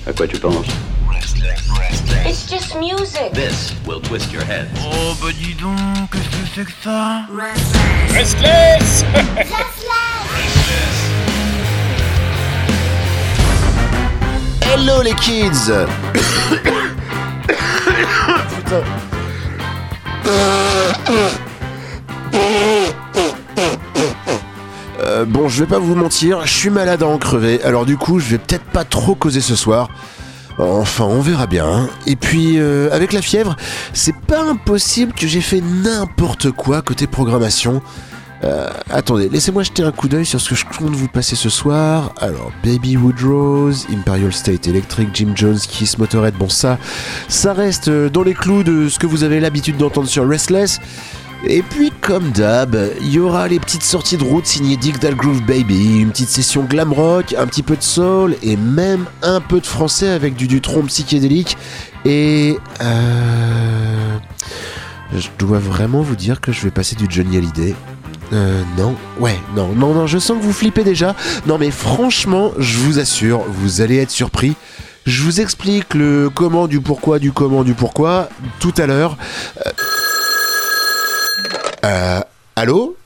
À quoi tu penses? It's just music. This will twist your head. Oh, bah dis donc, qu'est-ce que c'est que ça? Restless. Hello les kids. Putain. Bon, je vais pas vous mentir, je suis malade à en crever, alors du coup, je vais peut-être pas trop causer ce soir. Enfin, on verra bien. Hein. Et puis, avec la fièvre, c'est pas impossible que j'ai fait n'importe quoi côté programmation. Attendez, laissez-moi jeter un coup d'œil sur ce que je compte vous passer ce soir. Alors, Baby Woodrose, Imperial State Electric, Jim Jones, Kiss, Motorhead, bon ça reste dans les clous de ce que vous avez l'habitude d'entendre sur Restless. Et puis, comme d'hab, il y aura les petites sorties de route signées Dig That Groove Baby, une petite session glam rock, un petit peu de soul et même un peu de français avec du Dutronc psychédélique. Et je dois vraiment vous dire que je vais passer du Johnny Hallyday. Non, je sens que vous flippez déjà. Non mais franchement, je vous assure, vous allez être surpris. Je vous explique le comment du pourquoi du comment du pourquoi tout à l'heure. Allô?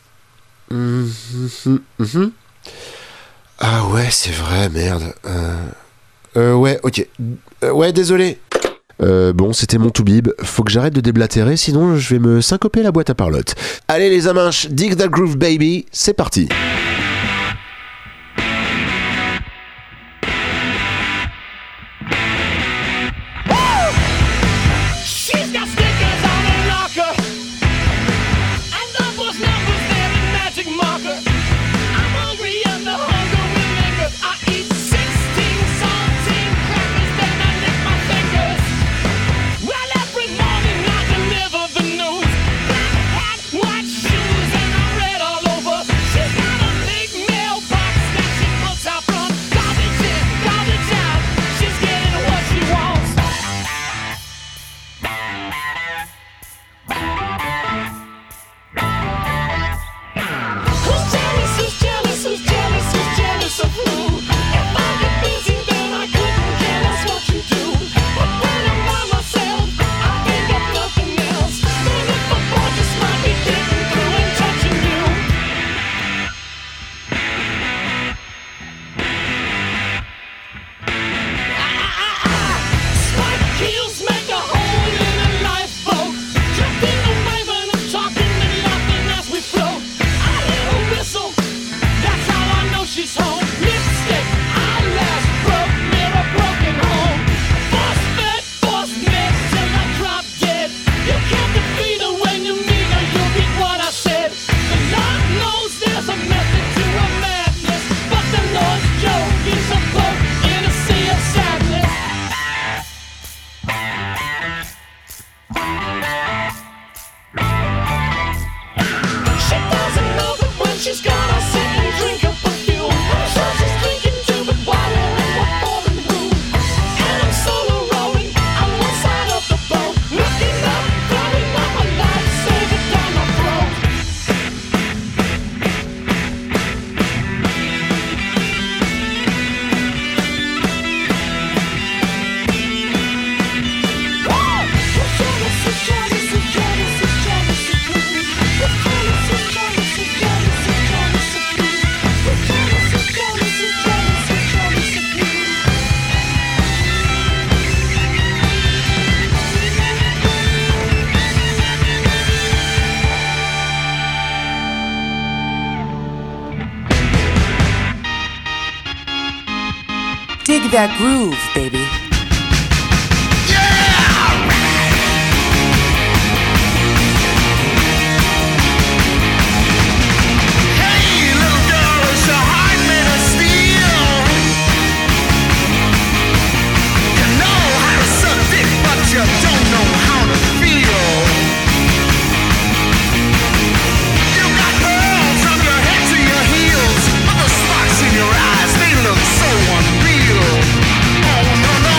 Ah ouais, c'est vrai, merde. Ouais, ok. Ouais, désolé. Bon, c'était mon toubib. Faut que j'arrête de déblatérer, sinon je vais me syncoper la boîte à parlotte. Allez les aminches, Dig That Groove Baby, c'est parti. Dig that groove, baby. In your eyes, they look so unreal. Oh no no.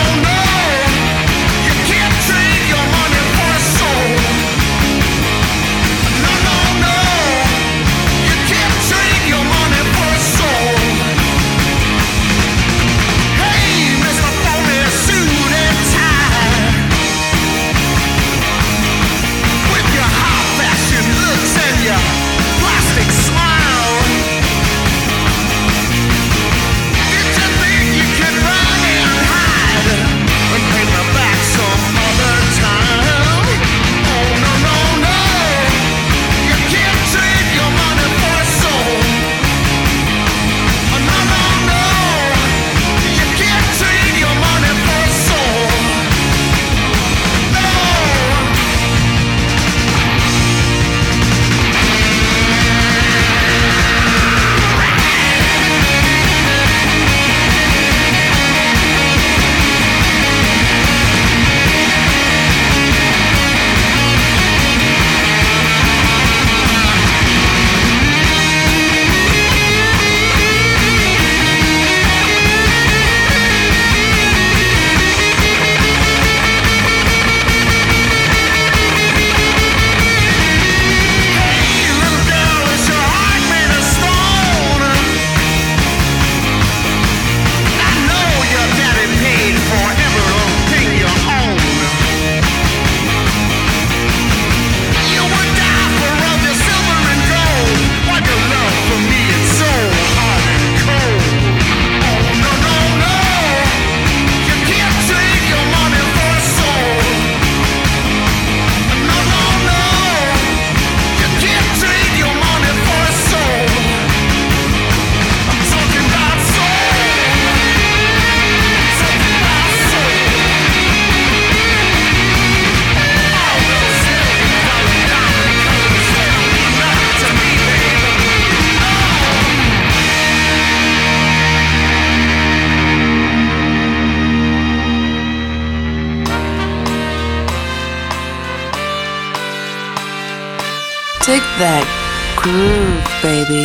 Take that groove, baby.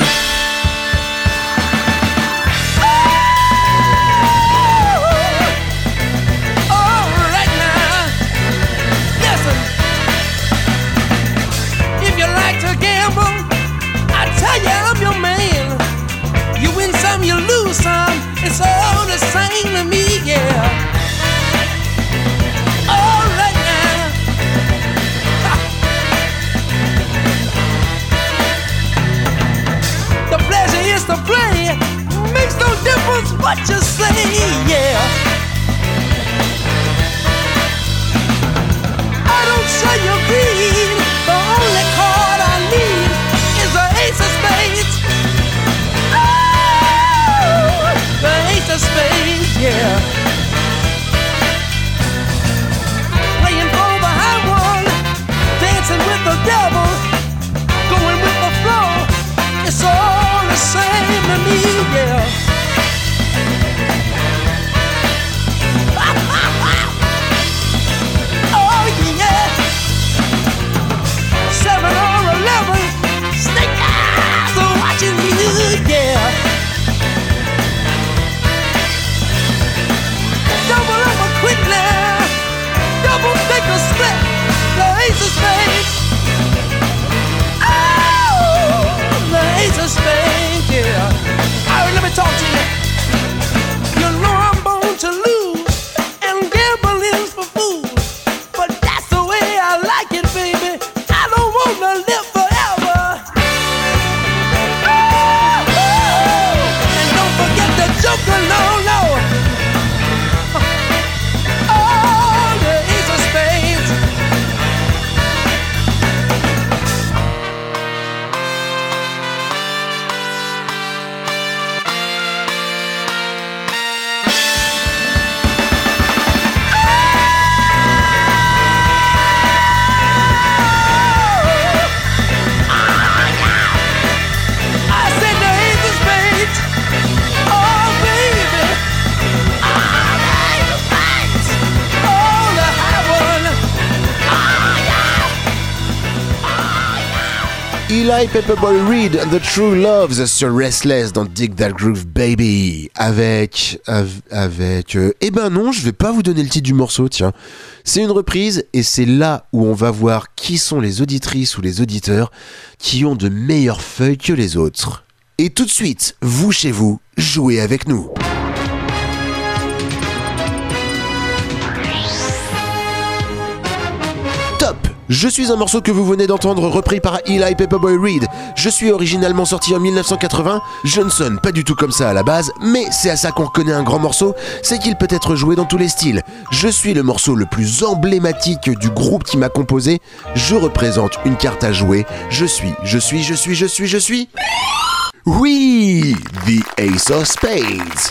It's all the same to me, yeah. All right now. The pleasure is to play. Makes no difference what you say, yeah. I don't show you greed. The only card I need is the ace of spades. The ace of spades, yeah. Playing for the high one, dancing with the devil, going with the flow. It's all the same to me, yeah. Oh yeah. 7 or 11, snake eyes are watching you, yeah. Double up a quick now, double take a split, the ace of spades. Oh, the ace of spades, yeah. Alright, let me talk to you. You know I'm born to lose, and gambling's for fools. But that's the way I like it, baby. I don't wanna live forever. Oh, and don't forget the joker, no. Eli Pepperboy Reed, The True Loves sur Restless dans Dig That Groove Baby. Avec... eh ben non, je vais pas vous donner le titre du morceau, tiens. C'est une reprise et c'est là où on va voir qui sont les auditrices ou les auditeurs qui ont de meilleures feuilles que les autres. Et tout de suite, vous chez vous, jouez avec nous. Top! Je suis un morceau que vous venez d'entendre repris par Eli Pepperboy Reed. Je suis originalement sorti en 1980. Je ne sonne pas du tout comme ça à la base, mais c'est à ça qu'on reconnaît un grand morceau, c'est qu'il peut être joué dans tous les styles. Je suis le morceau le plus emblématique du groupe qui m'a composé. Je représente une carte à jouer. Je suis... Oui! The Ace of Spades!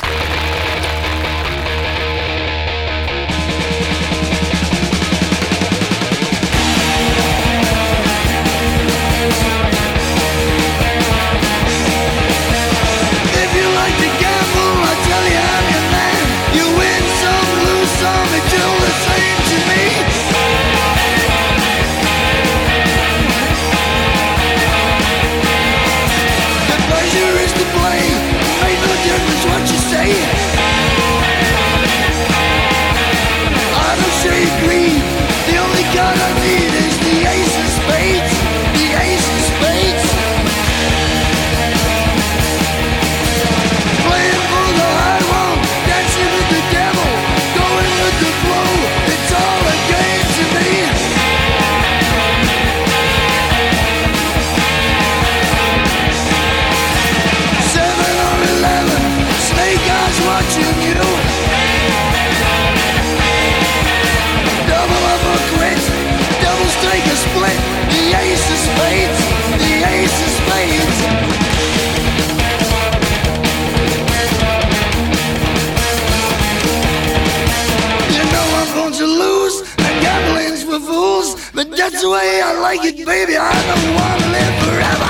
That's the way I like it, baby. I don't want to live forever.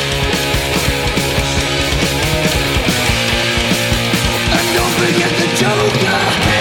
And don't forget the Joker.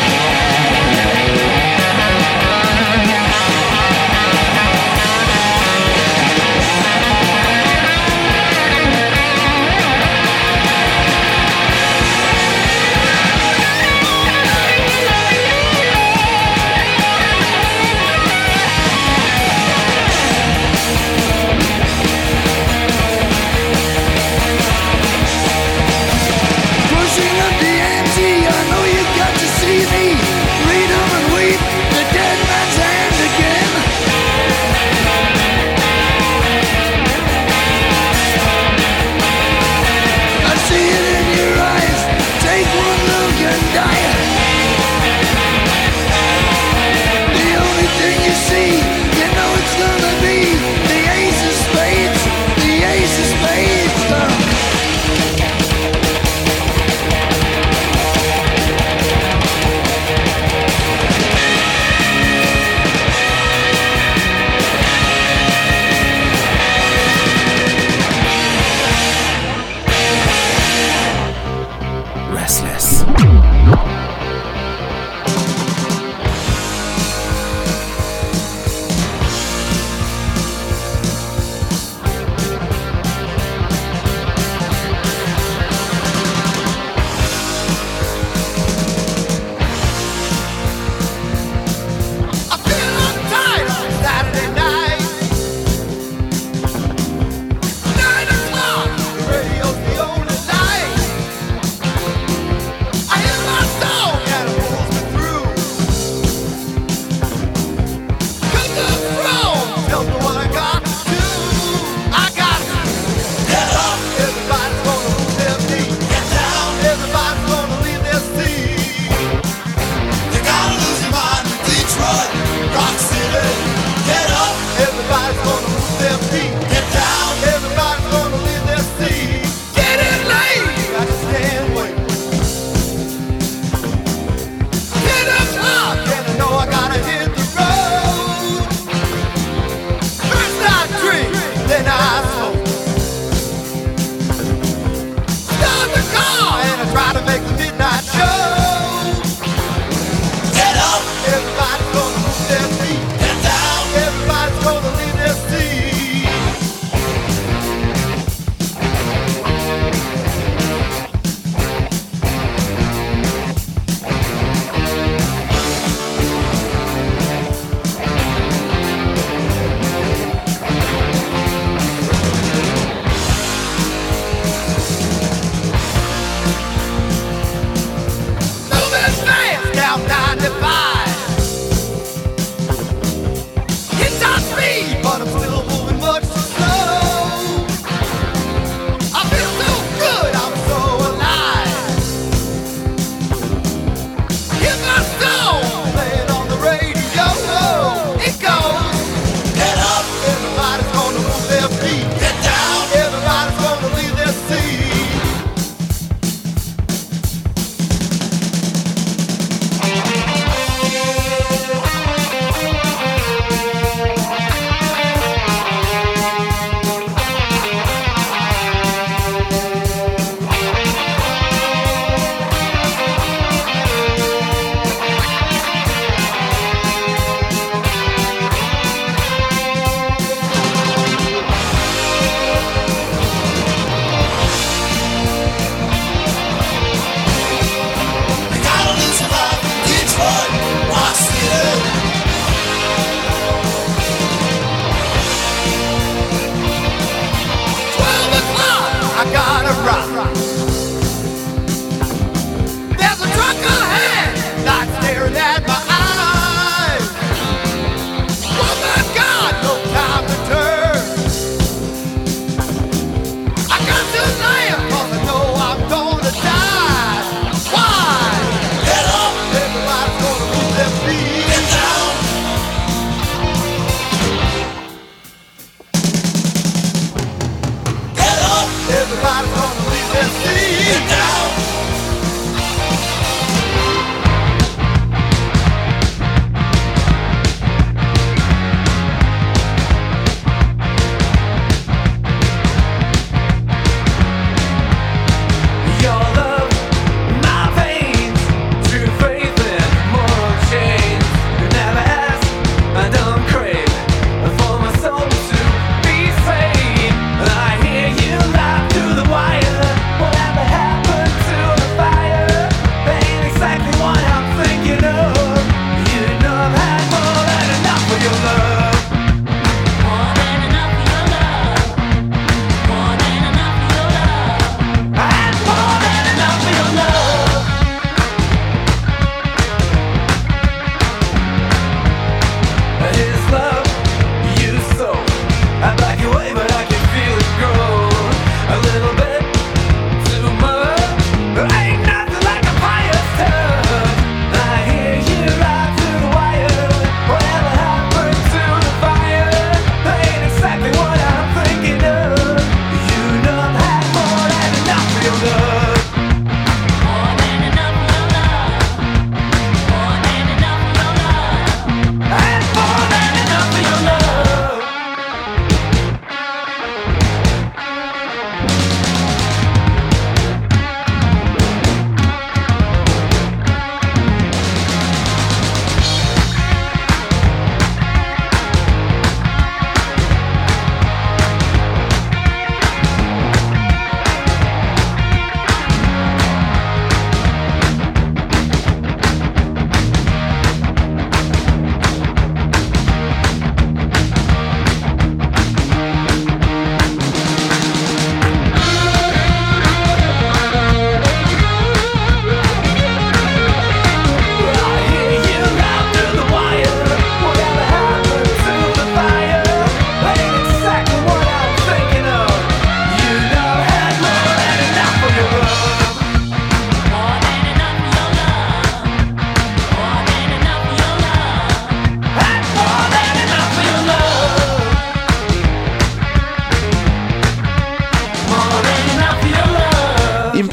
Restless.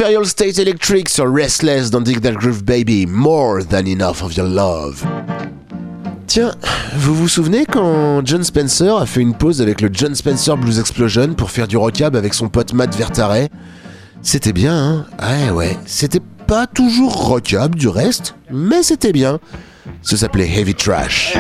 Imperial State Electric sur Restless dans Dig That Groove Baby, More Than Enough of Your Love. Tiens, vous vous souvenez quand Jon Spencer a fait une pause avec le Jon Spencer Blues Explosion pour faire du rockab avec son pote Matt Vertare? C'était bien, hein? Ouais, c'était pas toujours rockab du reste, mais c'était bien. Ça s'appelait Heavy Trash.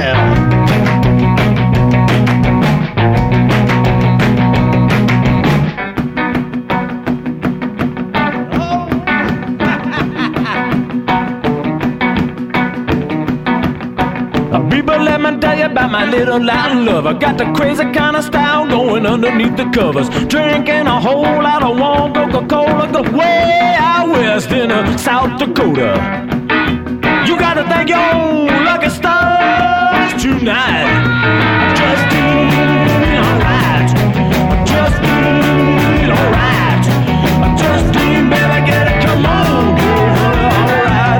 People, let me tell you about my little Latin lover. Got the crazy kind of style going underneath the covers. Drinking a whole lot of warm Coca-Cola, the way out west in South Dakota. You gotta thank your own lucky stars tonight. Just feel alright. Just feel alright. Just feel, baby, get it, come on, alright.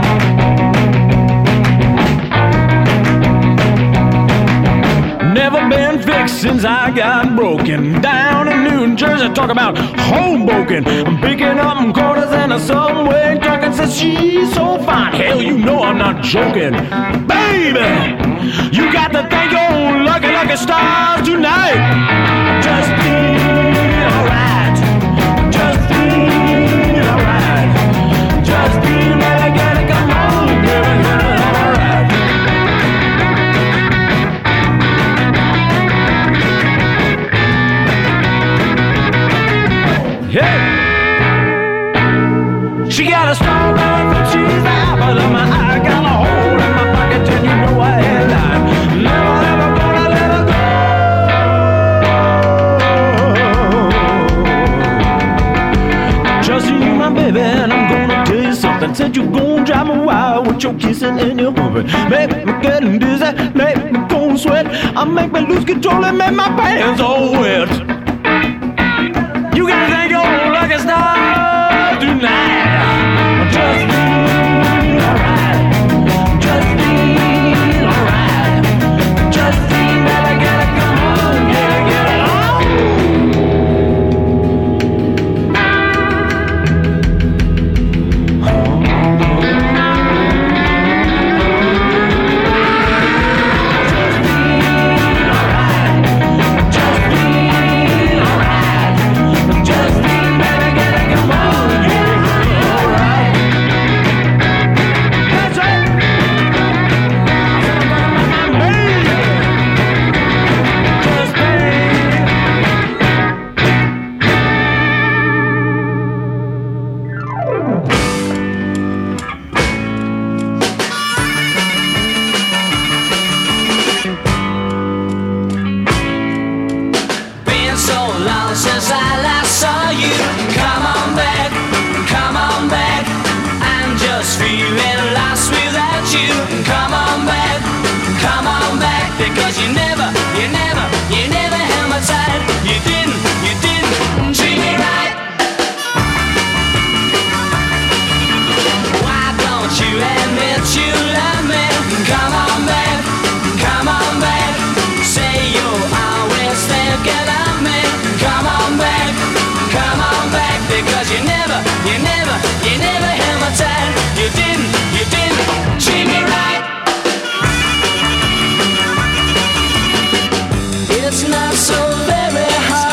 Never been fixed since I got broken down in New Jersey. Talk about Hoboken. I'm picking up quarters in a subway. Talking says she's so fine. Hell, you know I'm not joking, baby. You got to thank your lucky, lucky stars tonight. Just feel alright. Just feel alright. Just feel like I gotta come home, baby. Alright. Hey! She got a strawberry fruit cheese apple in my eye. Got a hole in my pocket and you know I ain't lying. Never ever gonna let her go. Just you, my baby, and I'm gonna tell you something. Said you gon' drive me wild with your kissing and your humping. Make me getting dizzy, make me cold sweat. I make me lose control and make my pants all wet. You gotta thank your lucky stars tonight. Just feel alright. Just feel alright. Just feel that I gotta come on, get it treat me right. It's not so very hard.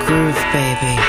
groove, baby.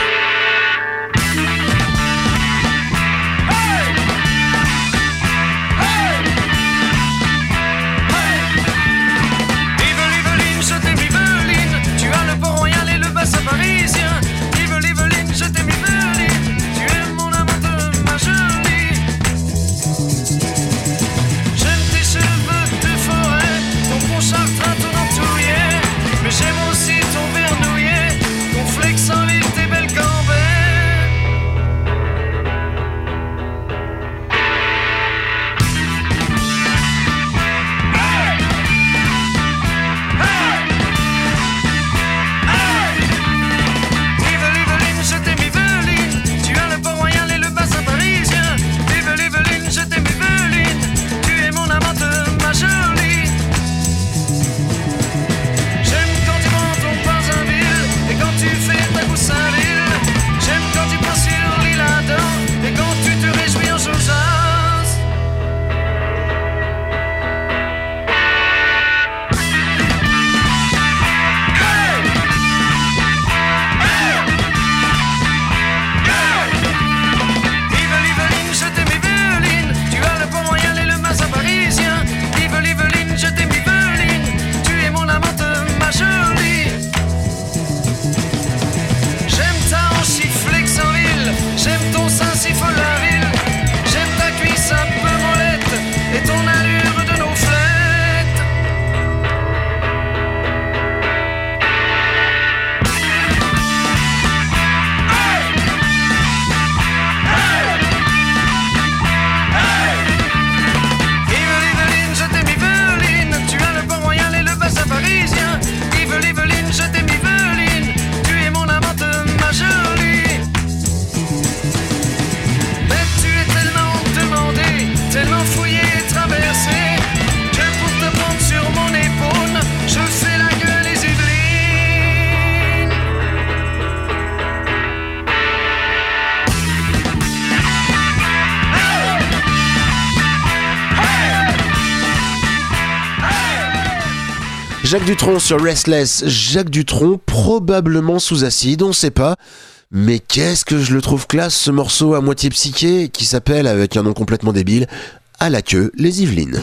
Jacques Dutronc sur Restless. Jacques Dutronc, probablement sous acide, on sait pas. Mais qu'est-ce que je le trouve classe, ce morceau à moitié psyché, qui s'appelle, avec un nom complètement débile, À la queue, les Yvelines.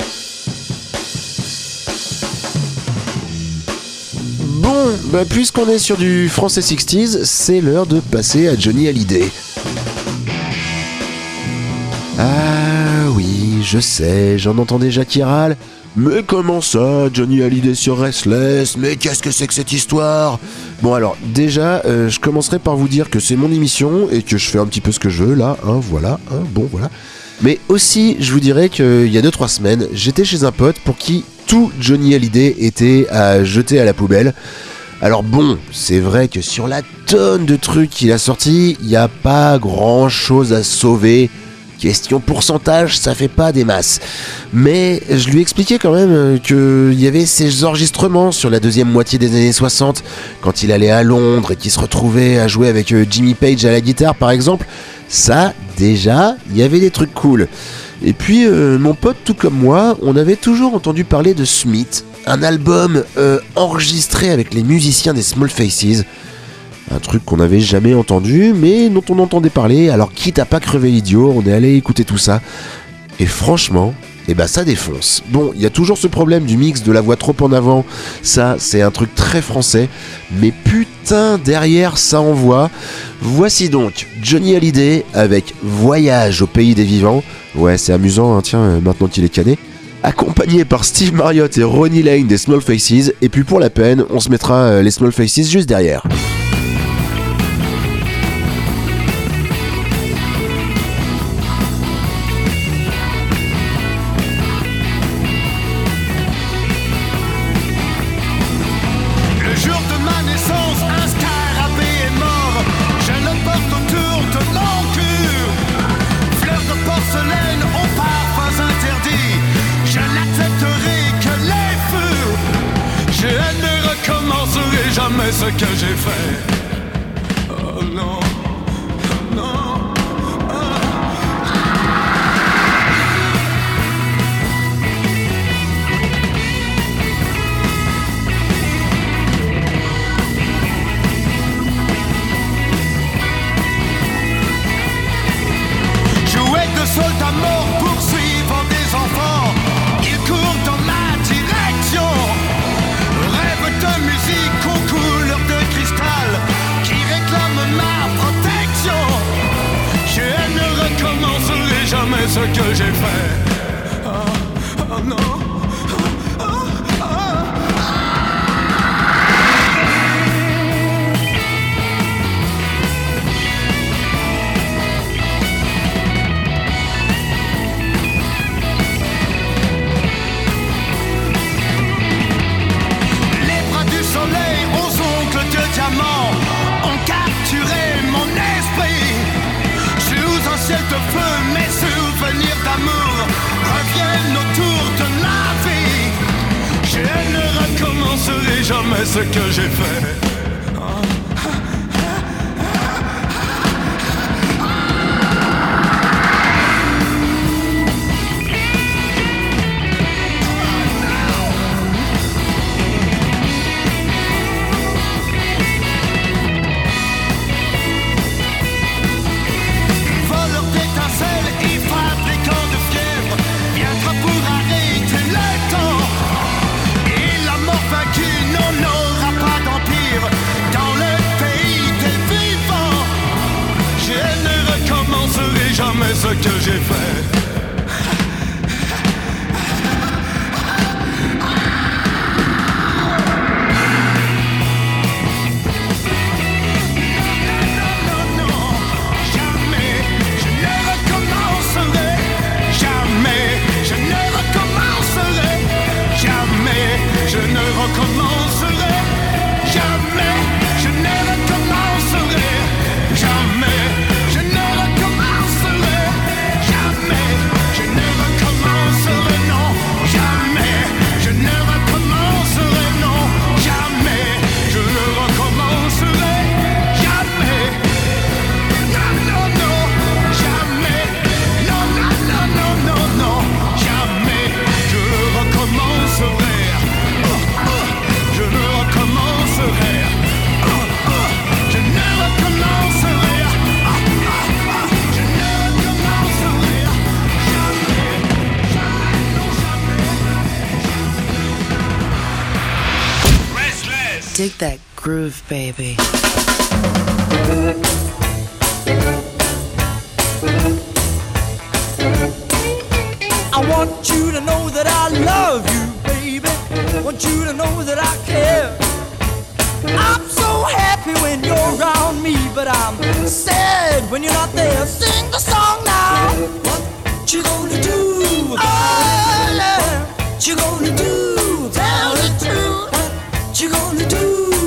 Bon, puisqu'on est sur du français 60s, c'est l'heure de passer à Johnny Hallyday. Ah oui, je sais, j'en entends déjà qui râle. Mais comment ça, Johnny Hallyday sur Restless? Mais qu'est-ce que c'est que cette histoire? Bon alors, déjà, je commencerai par vous dire que c'est mon émission et que je fais un petit peu ce que je veux, là, voilà. Mais aussi, je vous dirais qu'il y a 2-3 semaines, j'étais chez un pote pour qui tout Johnny Hallyday était à jeter à la poubelle. Alors bon, c'est vrai que sur la tonne de trucs qu'il a sortis, il n'y a pas grand-chose à sauver. Question pourcentage, ça fait pas des masses. Mais je lui expliquais quand même qu'il y avait ces enregistrements sur la deuxième moitié des années 60, quand il allait à Londres et qu'il se retrouvait à jouer avec Jimmy Page à la guitare par exemple. Ça, déjà, il y avait des trucs cool. Et puis, mon pote, tout comme moi, on avait toujours entendu parler de Smith, un album enregistré avec les musiciens des Small Faces. Un truc qu'on n'avait jamais entendu, mais dont on entendait parler, alors quitte à pas crever l'idiot, on est allé écouter tout ça. Et franchement, ça défonce. Bon, il y a toujours ce problème du mix de la voix trop en avant, ça c'est un truc très français, mais putain, derrière ça envoie. Voici donc Johnny Hallyday avec Voyage au pays des vivants. Ouais, c'est amusant, hein, tiens, maintenant qu'il est cané. Accompagné par Steve Marriott et Ronnie Lane des Small Faces, et puis pour la peine, on se mettra les Small Faces juste derrière. Ce que j'ai fait. ce que j'ai fait. Oh non. Ont capturé mon esprit. Sous un ciel de feu, mes souvenirs d'amour reviennent autour de la vie. Je ne recommencerai jamais ce que j'ai fait. Jamais ce que j'ai fait. Dig that groove, baby. I want you to know that I love you, baby. Want you to know that I care. I'm so happy when you're around me, but I'm sad when you're not there. Sing the song now. What you gonna do? Oh, yeah. What you gonna do? Tell the truth. What you gonna do?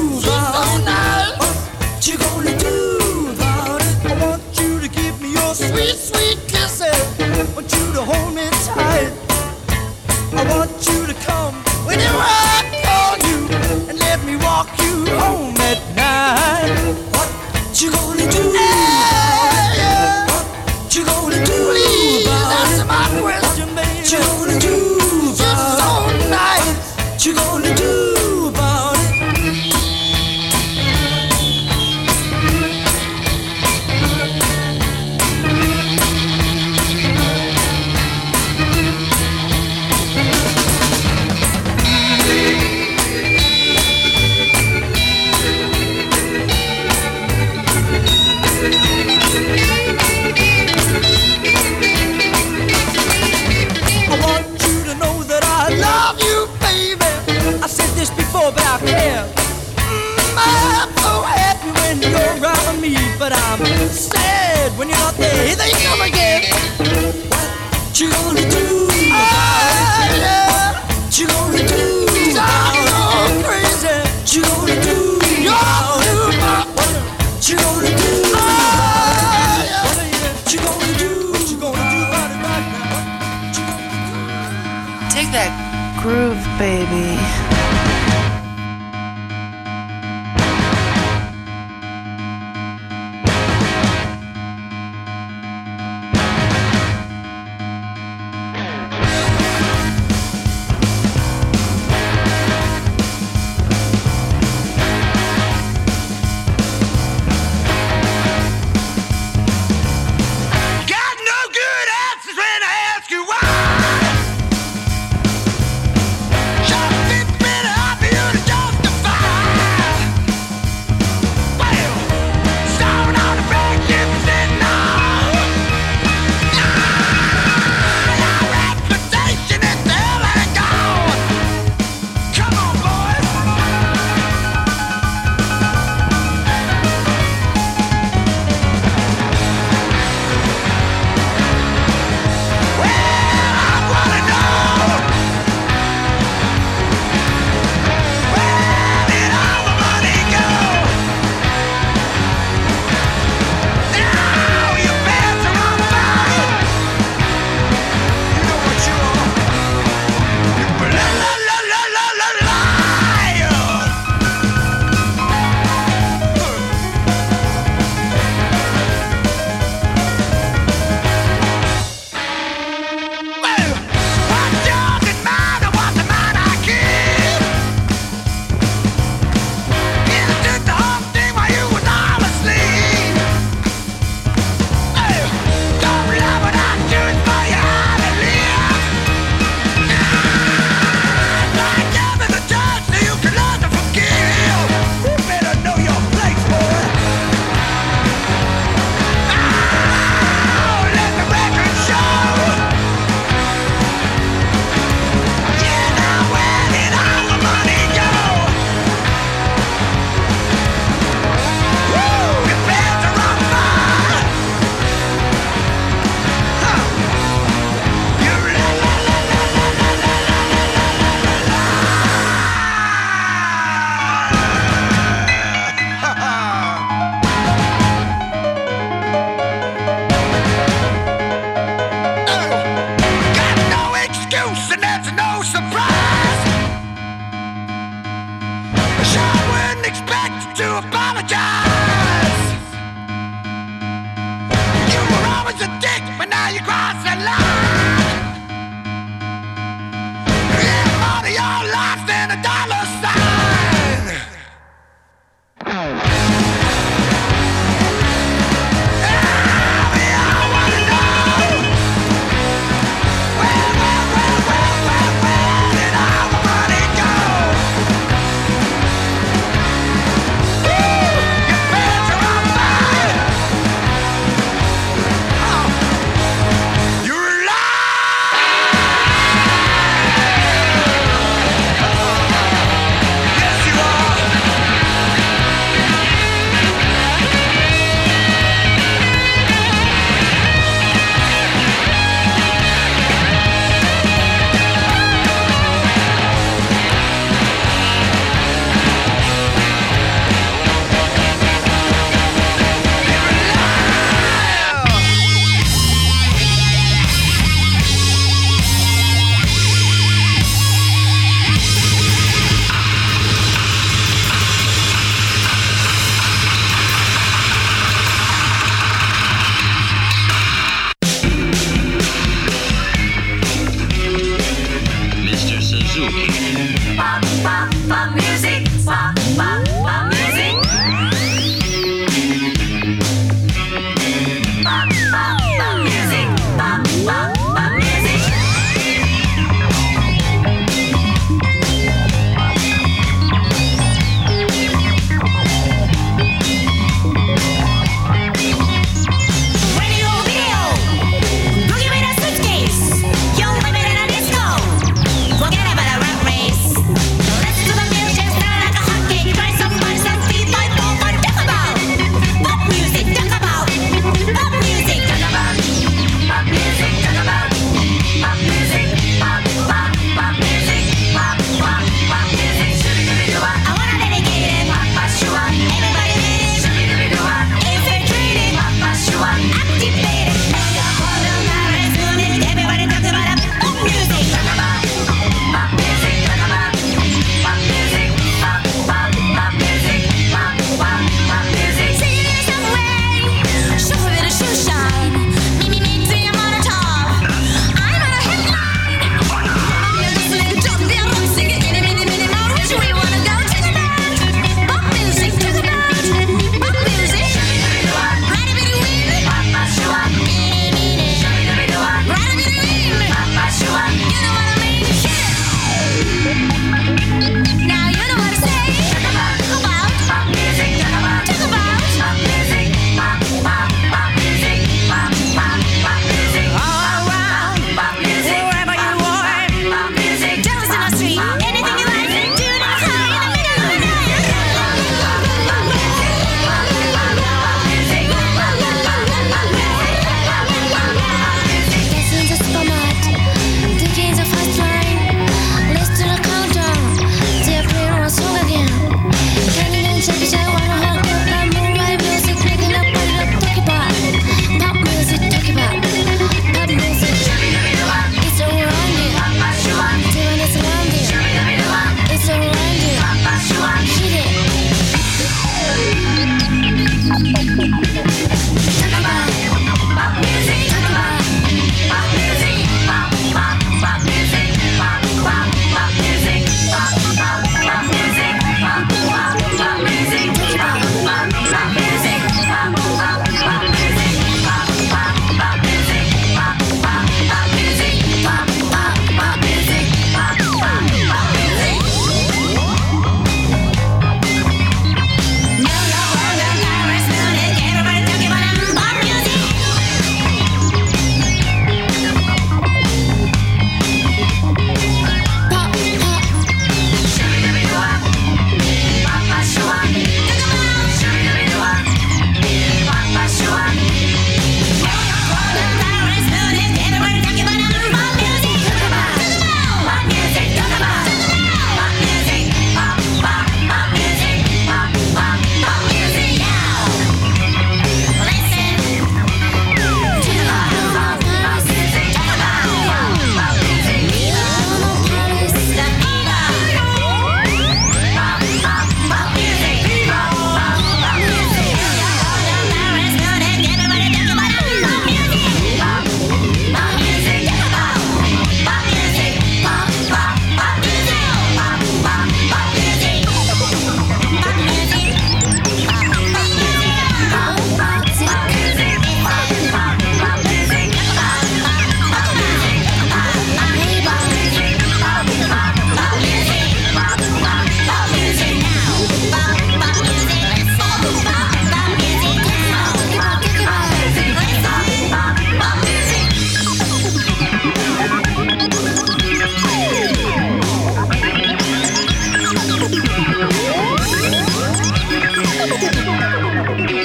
What you gonna do about it? I want you to give me your sweet, sweet kisses. Want you to hold me tight. I want you to come when I call you and let me walk you home at night. What you gonna do? Yeah. What you gonna do? Please answer my question, baby. What you gonna do? It's so nice. What you gonna do about it? But I care. I'm so happy when you're around me, but I'm sad when you're not there. They come again. What you gonna do? What you gonna do? I'm going crazy. What you gonna do? What you gonna do? What you gonna do? What you gonna do about it right now? Dig that groove, baby. Shut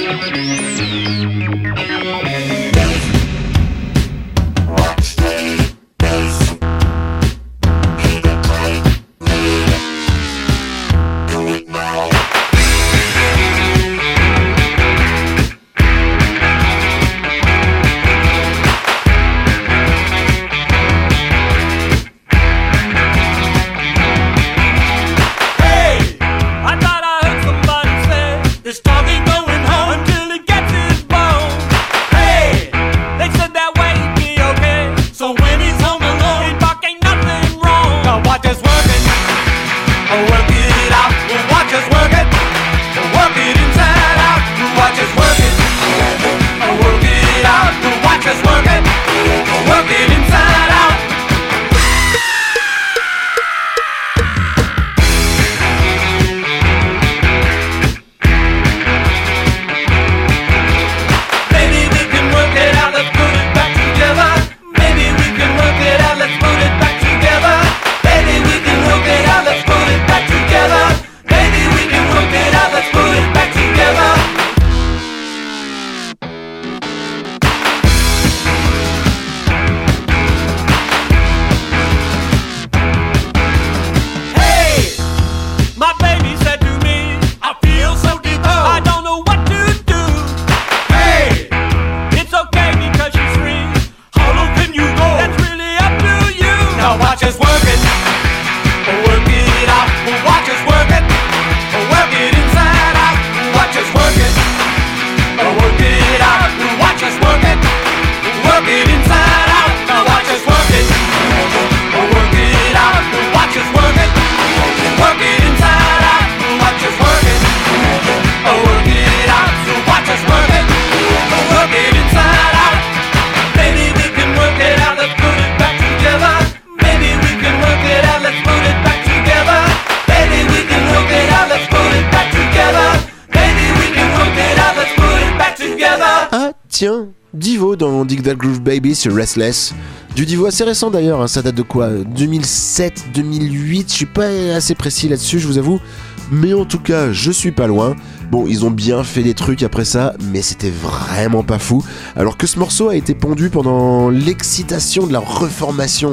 Tiens, Divo dans Dig That Groove Baby sur Restless. Du Divo assez récent d'ailleurs, hein, ça date de quoi 2007, 2008, je suis pas assez précis là-dessus, je vous avoue. Mais en tout cas, je suis pas loin. Bon, ils ont bien fait des trucs après ça, mais c'était vraiment pas fou. Alors que ce morceau a été pondu pendant l'excitation de la reformation.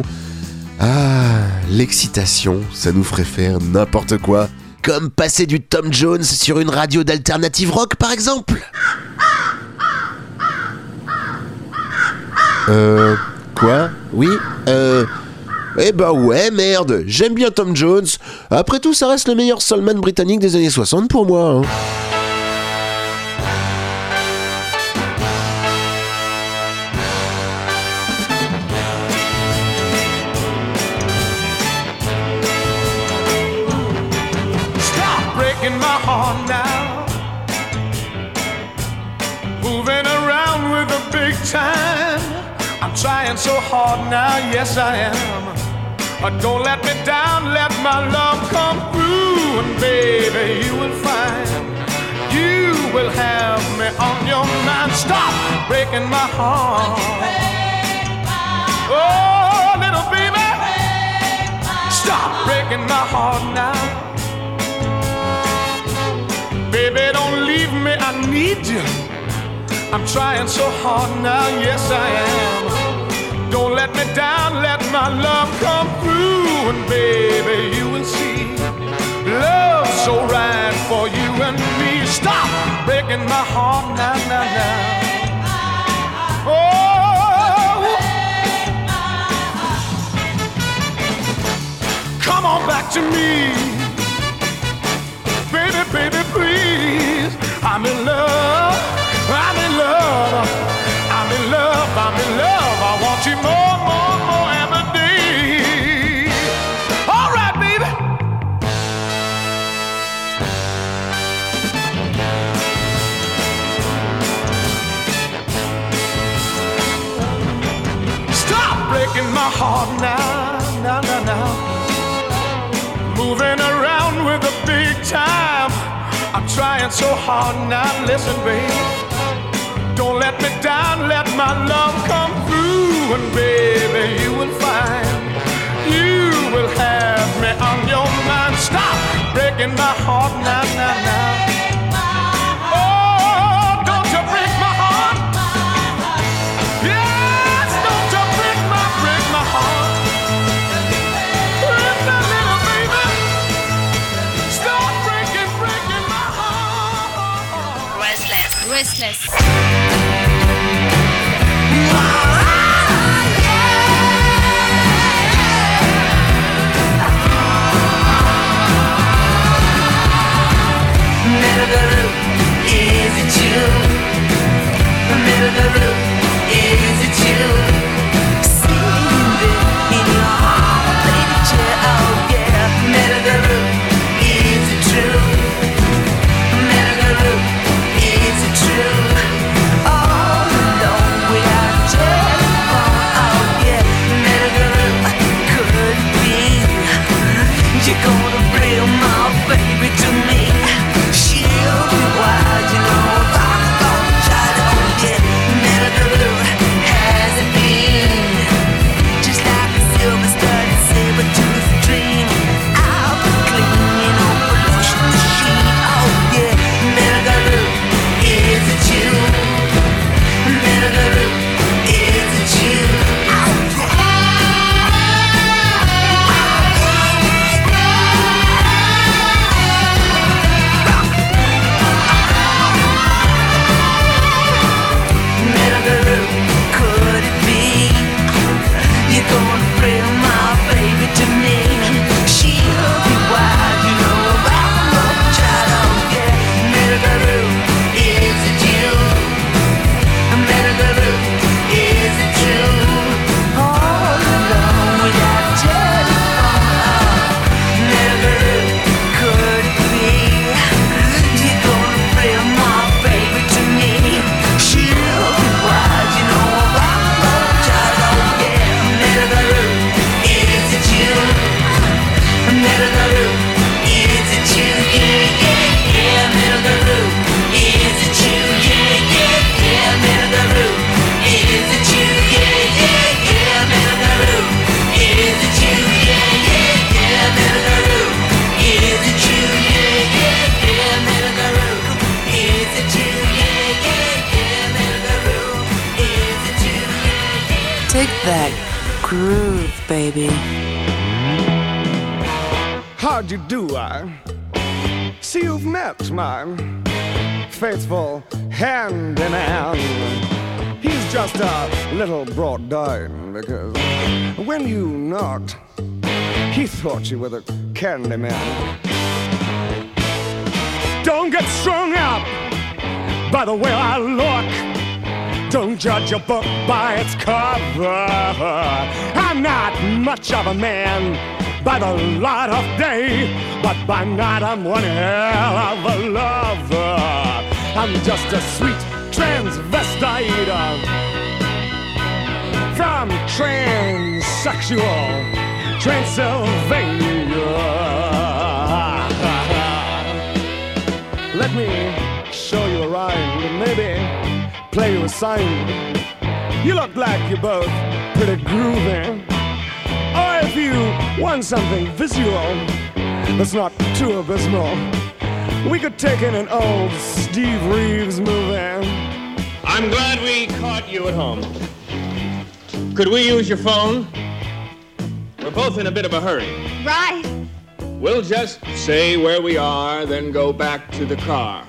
Ah, l'excitation, ça nous ferait faire n'importe quoi. Comme passer du Tom Jones sur une radio d'alternative rock par exemple. Quoi ? Oui ? Eh bah ouais, merde, j'aime bien Tom Jones. Après tout, ça reste le meilleur soulman britannique des années 60 pour moi. Hein. Stop breaking my heart now. Moving around with a big time. I'm trying so hard now, yes I am. Don't let me down, let my love come through. And baby, you will find you will have me on your mind. Stop breaking my heart. Oh, little baby, stop breaking my heart now. Baby, don't leave me, I need you. I'm trying so hard now, yes I am. Don't let me down, let my love come through. And baby, you will see love's so right for you and me. Stop breaking my heart now, now, now. Oh, come on back to me. Baby, baby, please. I'm in love. I'm in love, I'm in love, I'm in love. I want you more, more, more every day. All right, baby. Stop breaking my heart now, now, now, now. Moving around with a big time. I'm trying so hard now, listen, baby. Don't let me down, let my love come through. And baby, you will find you will have me on your mind. Stop breaking my heart now, now, now. Oh, don't Restless. Is it you? Is it you? Sleeping in your heart, baby chair, oh yeah. Is it true? Is it true? All alone without a telephone, oh yeah. Could it be you're gonna bring my baby to me? She'll be wild, you know. Has it been just like a silver-studded saber-tooth dream? I'll be cleaning on pollution machine. Oh yeah, is it you? Is it you? Could it be you're gonna bring my baby to me? She'll be wild, you know, about the love child, oh yeah. Is it you? Is it true? All alone without a telephone, could it be you're gonna bring my baby to me? She'll be wild, you know, about the love child, oh yeah. Is it you? Is it you? Yeah, yeah, yeah. Is it you? Yeah, yeah, yeah. Is it you? Yeah, yeah, yeah. Is it you? Yeah, yeah, yeah. Is it you? Yeah, yeah, yeah. Is it you? Yeah, yeah, yeah. Is it you? Dig that groove, baby. How'd you do? I see you've met my faithful handyman. He's just a little brought down because when you knocked, he thought you were the candy man. Don't get strung up by the way I look. Don't judge a book by its cover. I'm not much of a man by the light of day, but by night I'm one hell of a lover. I'm just a sweet transvestite from transsexual Transylvania. Let me show you around and maybe play you a sign. You look like you're both pretty groovy. Or if you want something visual that's not too abysmal, we could take in an old Steve Reeves movie. I'm glad we caught you at home. Could we use your phone? We're both in a bit of a hurry. Right. We'll just say where we are, then go back to the car.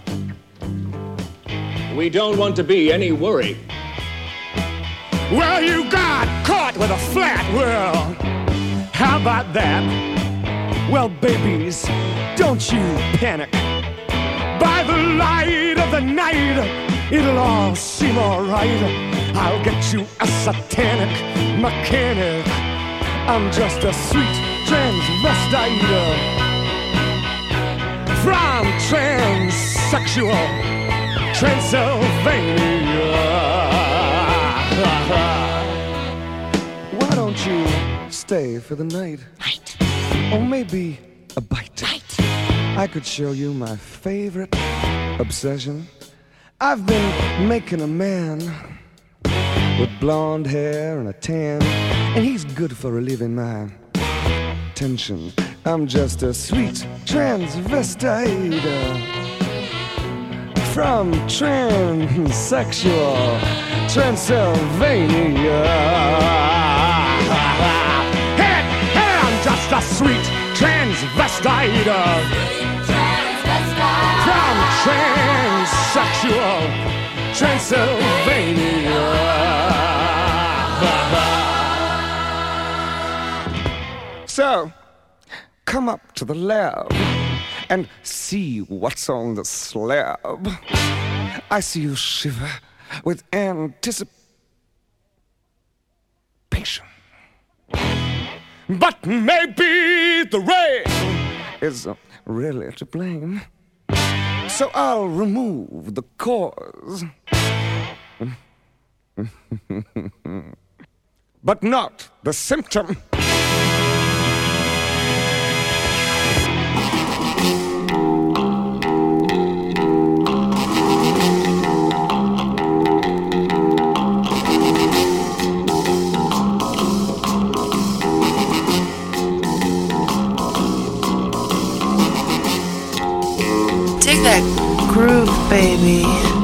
We don't want to be any worry. Well, you got caught with a flat world. How about that? Well, babies, don't you panic. By the light of the night, it'll all seem alright. I'll get you a satanic mechanic. I'm just a sweet transvestite from transsexual Transylvania. Why don't you stay for the night? Or maybe a bite. I could show you my favorite obsession. I've been making a man with blonde hair and a tan, and he's good for relieving my tension. I'm just a sweet transvestite from transsexual Transylvania. Hey, I'm just a sweet transvestite from transsexual Transylvania. So, come up to the lab and see what's on the slab. I see you shiver with anticipation. But maybe the rain is really to blame. So I'll remove the cause. But not the symptom. Take that groove, baby.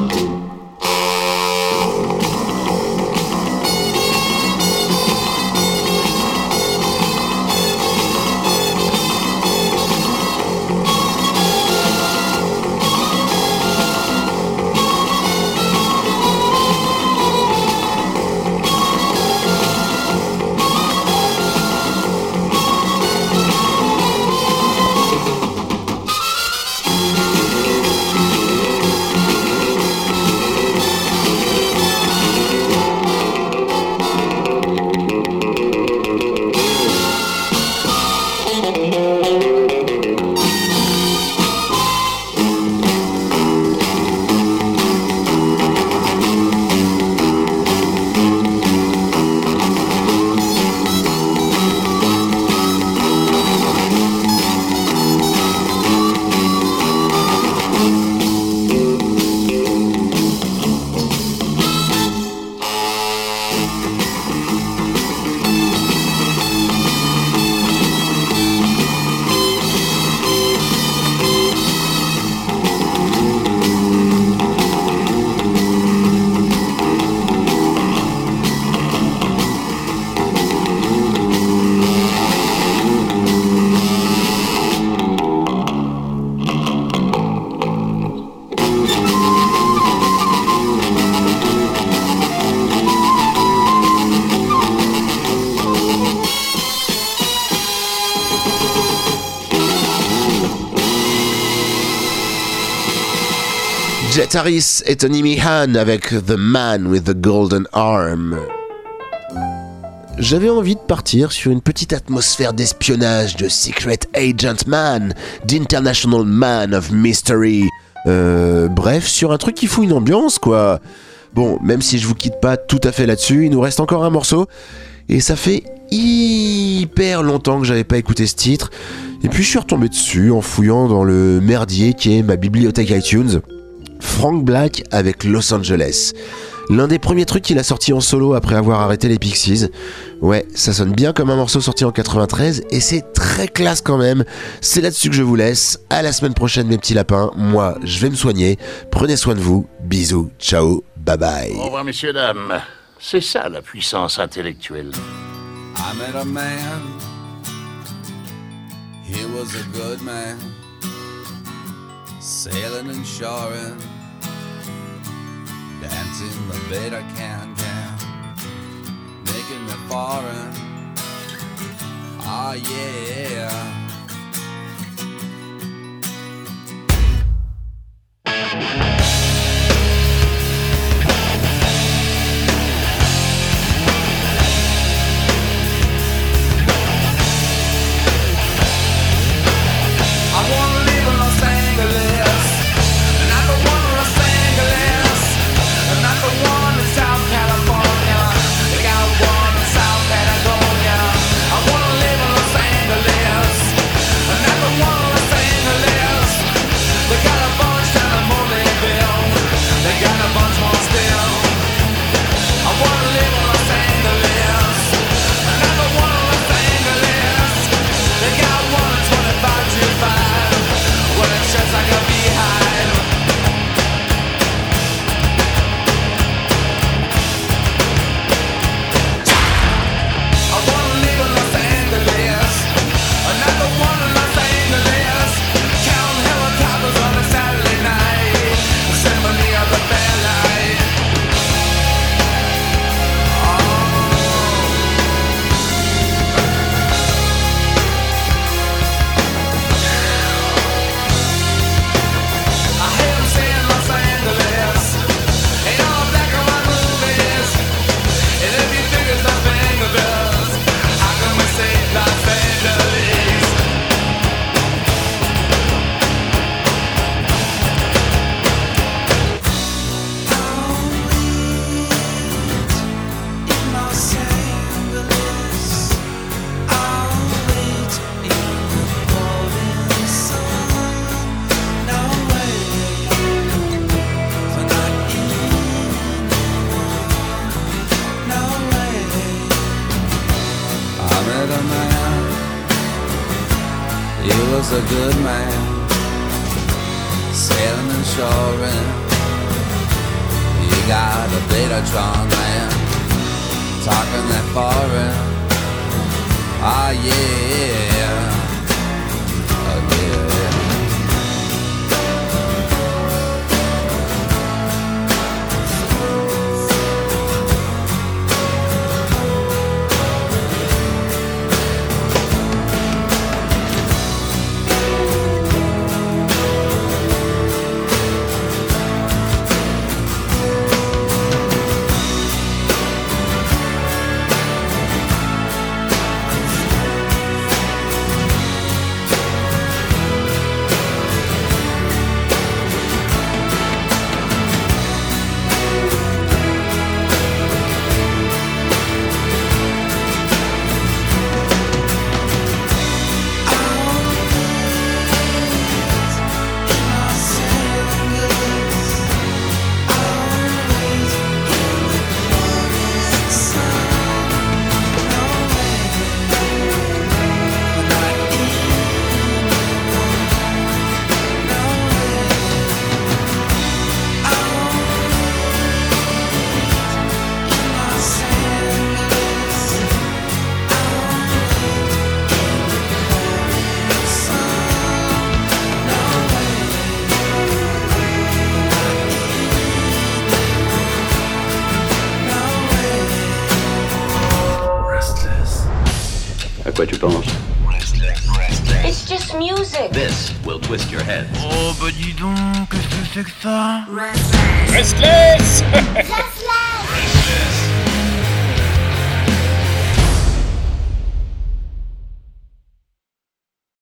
Jet Harris et Tony Meehan avec The Man with the Golden Arm. J'avais envie de partir sur une petite atmosphère d'espionnage de Secret Agent Man, d'International Man of Mystery. Bref, sur un truc qui fout une ambiance, quoi. Bon, même si je vous quitte pas tout à fait là-dessus, il nous reste encore un morceau. Et ça fait hyper longtemps que j'avais pas écouté ce titre. Et puis je suis retombé dessus en fouillant dans le merdier qui est ma bibliothèque iTunes. Frank Black avec Los Angeles. L'un des premiers trucs qu'il a sorti en solo après avoir arrêté les Pixies. Ouais, ça sonne bien comme un morceau sorti en 93 et c'est très classe quand même. C'est là-dessus que je vous laisse. À la semaine prochaine mes petits lapins. Moi, je vais me soigner. Prenez soin de vous. Bisous. Ciao. Bye bye. Au revoir messieurs, dames. C'est ça la puissance intellectuelle. I met a man. He was a good man. Sailing and shoring. Dancing the beta can, making me foreign. Oh yeah. I wanna live in Los Angeles, not the one in Los Angeles, not the one in South California. They got one in South Patagonia. I wanna live in Los Angeles, not the one in Los Angeles. They got a bunch down in Mollyville. They got a bunch more still. I wanna live in Los Angeles, not the one in Los Angeles. They got one in 2525. Well, it sheds like a beehive. I wanna live in Los Angeles, another one in Los Angeles. Counting helicopters on a Saturday night, the symphony of the fair light. was a good man, sailing and shoring. You got a Betatron man, talking that foreign. Ah yeah, oh yeah. Quoi tu penses? It's just music. This will twist your head. Oh bah dis donc, qu'est-ce que c'est que ça? Restless. Restless.